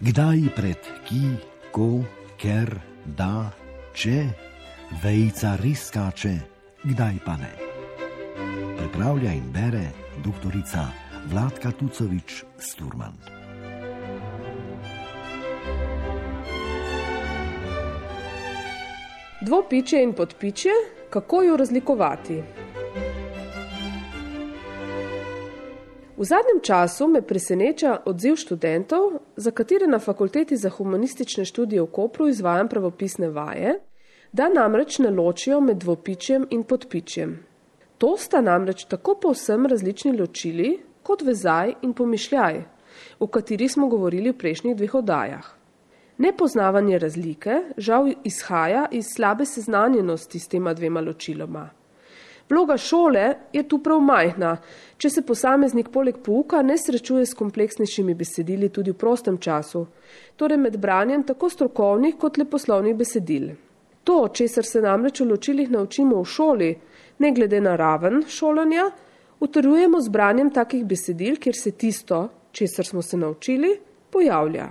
Kdaj pred ki, ko, ker, da, če, vejca res skače, kdaj pa ne. Pripravlja in bere doktorica Vladka Tucovič-Sturman. Dvopičje in podpičje, kako jo razlikovati? V zadnjem času me preseneča odziv študentov, za katere na Fakulteti za humanistične študije v Kopru izvajam pravopisne vaje, da namreč ne ločijo med dvopičjem in podpičjem. To sta namreč tako povsem različni ločili, kot vezaj in pomišljaj, o katerih smo govorili v prejšnjih 2 oddajah. Nepoznavanje razlike žal izhaja iz slabe seznanjenosti s tema 2 ločiloma. Vloga šole je tu prav majhna, če se posameznik poleg pouka ne srečuje s kompleksnejšimi besedili tudi v prostem času, torej med branjem tako strokovnih kot leposlovnih besedil. To, česar se namreč v ločilih naučimo v šoli, ne glede na raven šolanja, utrjujemo z branjem takih besedil, kjer se tisto, česar smo se naučili, pojavlja.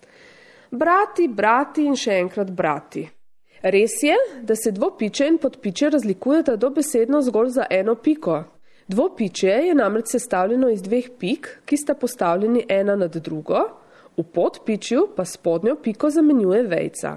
Brati, brati in še enkrat brati. Res je, da se dvopičje in podpičje razlikujeta dobesedno zgolj za eno piko. Dvopičje je namreč sestavljeno iz 2 pik, ki sta postavljeni ena nad drugo, v podpičju pa spodnjo piko zamenjuje vejca.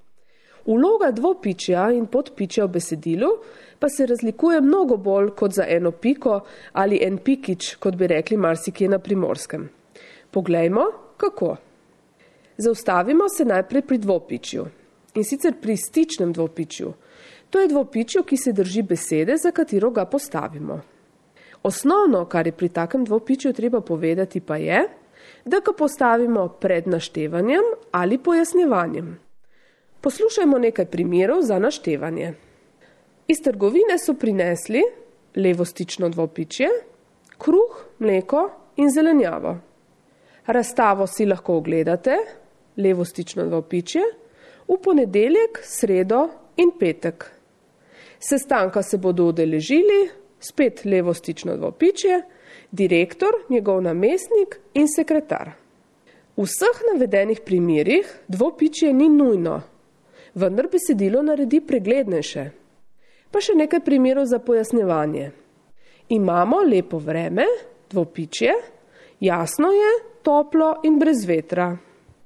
Vloga dvopičja in podpičja v besedilu pa se razlikuje mnogo bolj kot za eno piko ali en pikič, kot bi rekli marsikje na Primorskem. Poglejmo, kako. Zaustavimo se najprej pri dvopičju. In sicer pri stičnem dvopičju. To je dvopičju, ki se drži besede, za katero ga postavimo. Osnovno, kar je pri takem dvopičju treba povedati, pa je, da ga postavimo pred naštevanjem ali pojasnjevanjem. Poslušajmo nekaj primerov za naštevanje. Iz trgovine so prinesli levostično dvopičje, kruh, mleko in zelenjavo. Razstavo si lahko ogledate, levostično dvopičje, v ponedeljek, sredo in petek. Sestanka se bodo udeležili, spet levostično dvopičje, direktor, njegov namestnik in sekretar. V vseh navedenih primerih dvopičje ni nujno, vendar besedilo naredi preglednejše. Pa še nekaj primerov za pojasnjevanje. Imamo lepo vreme, dvopičje, jasno je, toplo in brez vetra.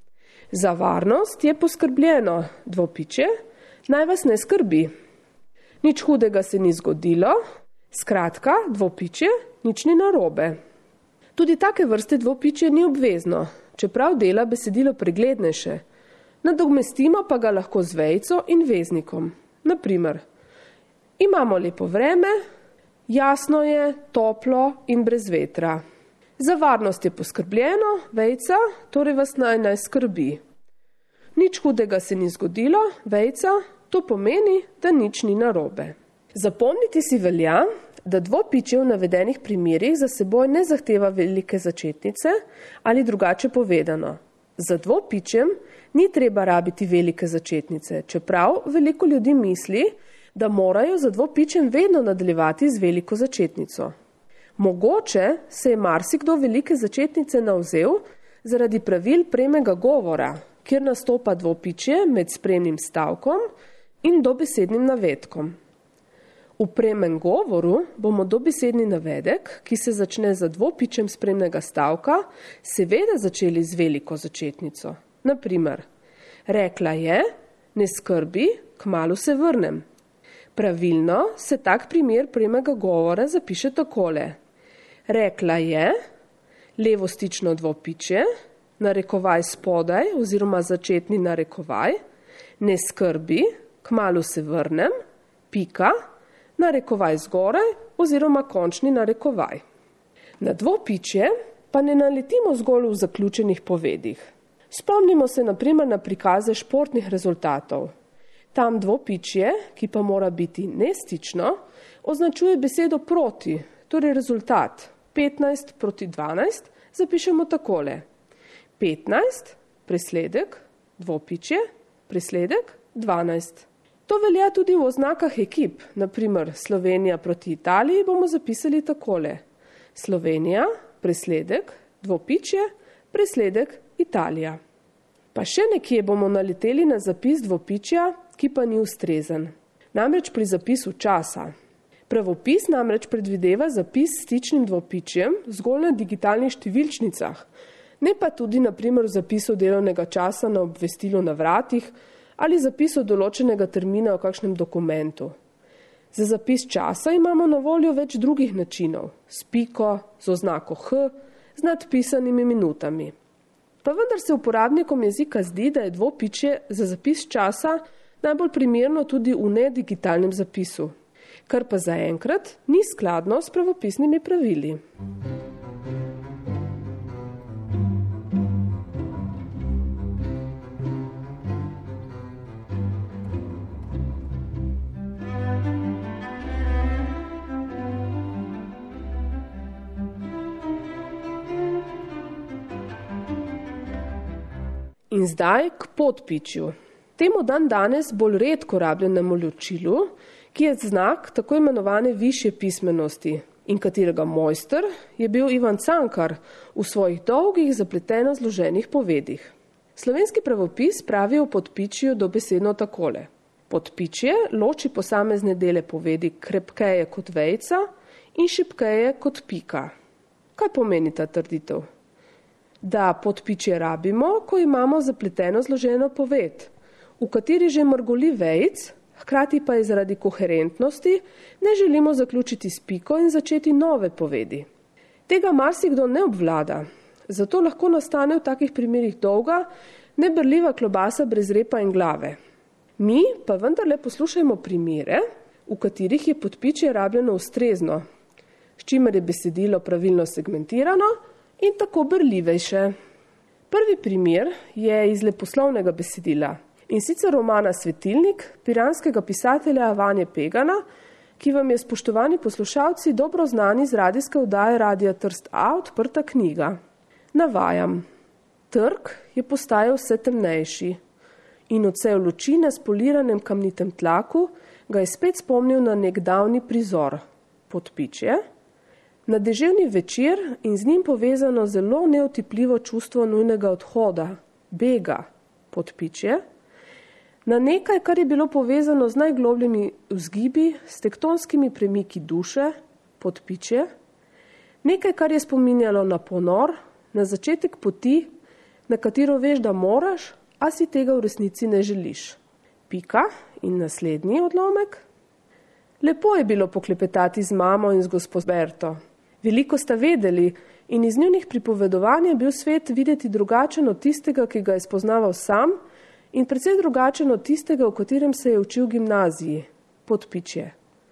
Za varnost je poskrbljeno, dvopičje, naj vas ne skrbi. Nič hudega se ni zgodilo, skratka, dvopičje, nič ni narobe. Tudi take vrste dvopičje ni obvezno, čeprav dela besedilo preglednejše. Nadomestimo pa ga lahko z vejco in veznikom. Naprimer, imamo lepo vreme, jasno je, toplo in brez vetra. Za varnost je poskrbljeno, vejca, torej vas naj skrbi. Nič hudega se ni zgodilo, vejca, to pomeni, da nič ni narobe. Zapomniti si velja, da dvopičje v navedenih primerih za seboj ne zahteva velike začetnice ali drugače povedano. Za dvopičjem ni treba rabiti velike začetnice, čeprav veliko ljudi misli, da morajo za dvopičjem vedno nadaljevati z veliko začetnico. Mogoče se je marsikdo velike začetnice navzel zaradi pravil premega govora, kjer nastopa dvopičje med spremnim stavkom in dobesednim navedkom. V premem govoru bomo dobesedni navedek, ki se začne za dvopičjem spremnega stavka, seveda začeli z veliko začetnico. Naprimer, rekla je, ne skrbi, kmalu se vrnem. Pravilno se tak primer premega govora zapiše takole. Rekla je, levostično dvopičje, narekovaj spodaj oziroma začetni narekovaj, ne skrbi, kmalu se vrnem, pika, narekovaj zgoraj oziroma končni narekovaj. Na dvopičje pa ne naletimo zgolj v zaključenih povedih. Spomnimo se naprimer na prikaze športnih rezultatov. Tam dvopičje, ki pa mora biti nestično, označuje besedo proti, torej rezultat. 15 proti 12 zapišemo takole. 15, presledek, dvopičje, presledek, 12. To velja tudi v oznakah ekip, naprimer Slovenija proti Italiji bomo zapisali takole. Slovenija, presledek, dvopičje, presledek, Italija. Pa še nekje bomo naleteli na zapis dvopičja, ki pa ni ustrezen. Namreč pri zapisu časa. Pravopis namreč predvideva zapis s stičnim dvopičjem zgolj na digitalnih številčnicah, ne pa tudi na primer v zapisu delovnega časa na obvestilu na vratih ali zapisu določenega termina v kakšnem dokumentu. Za zapis časa imamo na voljo več drugih načinov, s piko, z oznako H, z nadpisanimi minutami. Pa vendar se uporabnikom jezika zdi, da je dvopičje za zapis časa najbolj primerno tudi v nedigitalnem zapisu, kar pa zaenkrat ni skladno s pravopisnimi pravili. In zdaj k podpičju. Temu danes bolj redko rabljenemu ločilu, ki je znak tako imenovane višje pismenosti in katerega mojster je bil Ivan Cankar v svojih dolgih zapleteno zloženih povedih. Slovenski pravopis pravi o podpičju dobesedno takole. Podpičje loči posamezne dele povedi krepkeje kot vejica in šibkeje kot pika. Kaj pomeni ta trditev? Da podpičje rabimo, ko imamo zapleteno zloženo poved, v kateri že mrgoli vejic, hkrati pa je zaradi koherentnosti ne želimo zaključiti s piko in začeti nove povedi. Tega marsikdo ne obvlada, zato lahko nastane v takih primerih dolga, neberljiva klobasa brez repa in glave. Mi pa vendarle poslušajmo primere, v katerih je podpičje rabljeno ustrezno, s čimer je besedilo pravilno segmentirano in tako berljivejše. Prvi primer je iz leposlovnega besedila in sicer romana Svetilnik piranskega pisatelja Vanje Pegana, ki vam je, spoštovani poslušalci, dobro znani z radijske oddaje Radia Trst A Odprta knjiga. Navajam. Trg je postajal vse temnejši in odsev luči na spoliranem kamnitem tlaku ga je spet spomnil na nek davni prizor. Podpičje. Na deževni večer in z njim povezano zelo neotipljivo čustvo nujnega odhoda, bega, podpičje, na nekaj, kar je bilo povezano z najglobljimi vzgibi, s tektonskimi premiki duše, podpičje, nekaj, kar je spominjalo na ponor, na začetek poti, na katero veš, da moraš, a si tega v resnici ne želiš. Pika in naslednji odlomek. Lepo je bilo poklepetati z mamo in z gospod Berto. Veliko sta vedeli in iz njunih pripovedovanj je bil svet videti drugačen od tistega, ki ga je spoznaval sam in precej drugačen od tistega, v katerem se je učil v gimnaziji, podpičje.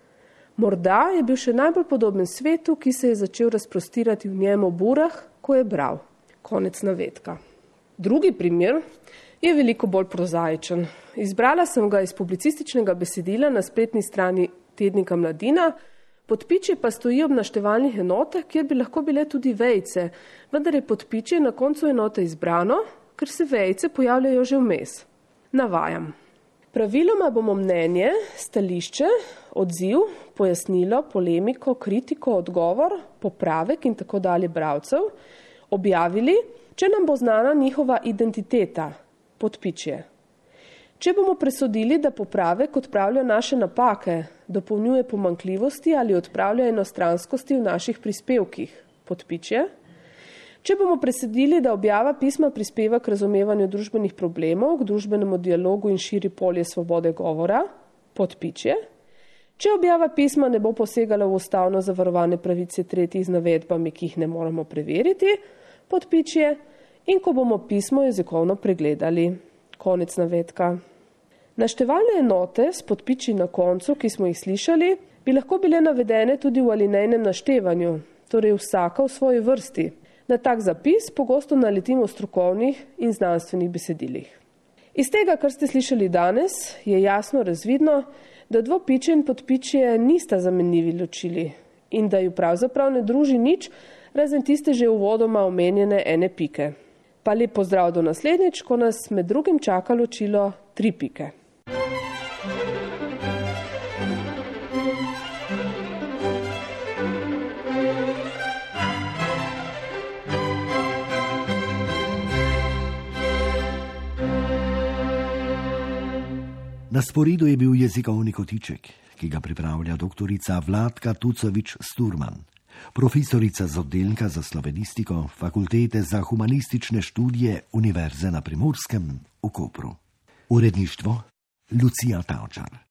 Morda je bil še najbolj podoben svetu, ki se je začel razprostirati v njem ob urah, ko je bral. Konec navedka. Drugi primer je veliko bolj prozaičen. Izbrala sem ga iz publicističnega besedila na spletni strani tednika Mladina. Podpičje pa stoji ob naštevalnih enotah, kjer bi lahko bile tudi vejice, vendar je podpičje na koncu enote izbrano, ker se vejice pojavljajo že vmes. Navajam. Praviloma bomo mnenje, stališče, odziv, pojasnilo, polemiko, kritiko, odgovor, popravek in tako dalje bralcev objavili, če nam bo znana njihova identiteta, podpičje. Če bomo presodili, da popravek odpravlja naše napake, dopolnjuje pomanjkljivosti ali odpravlja enostranskosti v naših prispevkih, podpičje. Če bomo presodili, da objava pisma prispeva k razumevanju družbenih problemov, k družbenemu dialogu in širi polje svobode govora, podpičje. Če objava pisma ne bo posegala v ustavno zavarovane pravice tretjih z navedbami, ki jih ne moramo preveriti, podpičje. In ko bomo pismo jezikovno pregledali. Konec navedka. Naštevalne enote s podpiči na koncu, ki smo jih slišali, bi lahko bile navedene tudi v alinejnem naštevanju, torej vsaka v svoji vrsti. Na tak zapis pogosto naletimo v strokovnih in znanstvenih besedilih. Iz tega, kar ste slišali danes, je jasno razvidno, da dvopičje in podpičje nista zamenljivi ločili in da ju pravzaprav ne druži nič, razen tiste že uvodoma omenjene ene pike. Pa lep pozdrav do naslednjič, ko nas med drugim čaka ločilo 3 pike. Na sporedu je bil jezikovni kotiček, ki ga pripravlja doktorica Vladka Tucovič-Sturman, profesorica z oddelka za slovenistiko Fakultete za humanistične študije Univerze na Primorskem v Kopru. Uredništvo Lucija Tavčar.